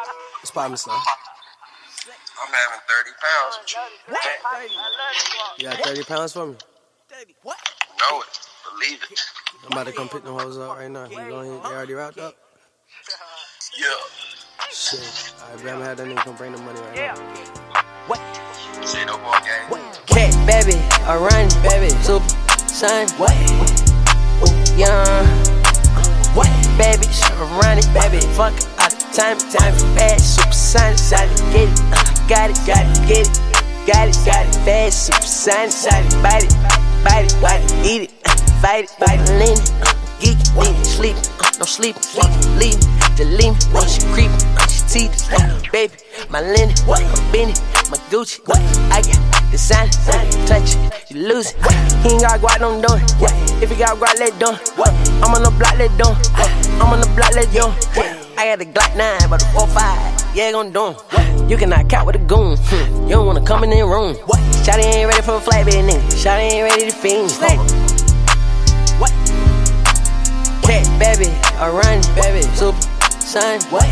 What's poppin', son? I'm having 30 pounds with you. What? You got 30 pounds for me? 30 what? Know it. Believe it. I'm about to come pick them hoes up right now. You going in? They already wrapped up? Yeah. Shit. Alright, bro, I'm gonna have that nigga come bring the money right now. What? Shit, no more game. Cat, baby, a run, baby, super, son, what? Young, what? Baby, run it, baby, fuck all the time for fast, super son, solid, get it, got it, get it, got it, fast, super son, solid, bite it, eat it, fight it, lean it, geek it, lean it, sleep, no sleep, leave it, just leave me, when she creep, she teeth, baby, my linen, my Benny, my Gucci, I got the sign, touch it, you lose it. He ain't got guap, don't do it. If he got guap, let do it. I'm on the block, let do it. I'm on the block, let do it. I got the Glock 9, but the 4-5, yeah, gon' do it. You cannot count with a goon, you don't wanna come in the room. Shawty ain't ready for a flatbed, nigga. Shawty ain't ready to fiend. What? Cat, baby, a run, baby, super, son, what?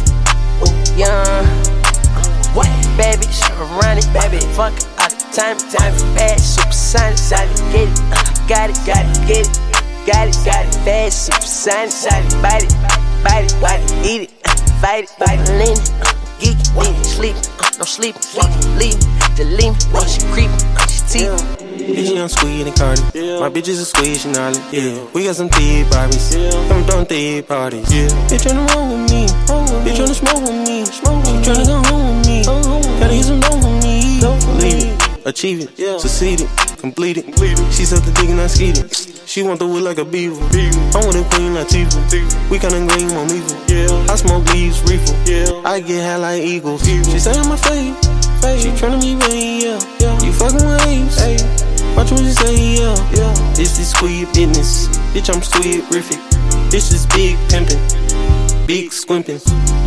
Young, what? Baby, run it, baby, fuck all the time for fast, super son, solid, get it, got it, get it, got it, fast, super son, solid, bite it, eat it, fight it, lean it, geek it, lean it, sleep, no sleep, leave it, just leave me, when she creep, she teeth. Bitch, I'm squeezing Cardi. My bitches are squeezing Nolly. We got some tea Barbies. I'm throwing tea parties. Bitch tryna roll with me. Bitch tryna smoke with me. She tryna go home with me. Gotta get some dough with me. Believe it, achieve it, succeed it, complete it. She sucked the dick and I skied it. She want the wood like a beaver. I'm with a queen Latifah. We kinda green on evil. I smoke leaves, reefer. I get high like eagles. She say I'm my fave. She tryna be vain, You fucking with Ace. Watch what you say, This is squeeze business. Bitch, I'm squeeze-rific. This is big pimpin', big squimpin'.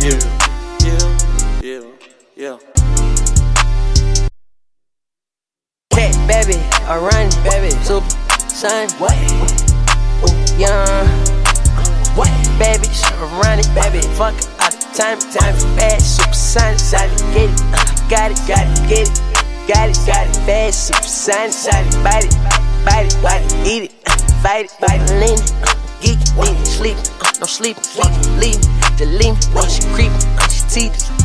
Cat, baby, a run, baby, super, son, what? Young, what? Baby, run it, baby, fuck all the time for fast, super son, solid, get it, got it, get it. Got it, fast, super son, solid, bite it, eat it, fight it, lean it, geek it, lean it, sleep, no sleep, leave it, just leave me, when she creep, she teeth.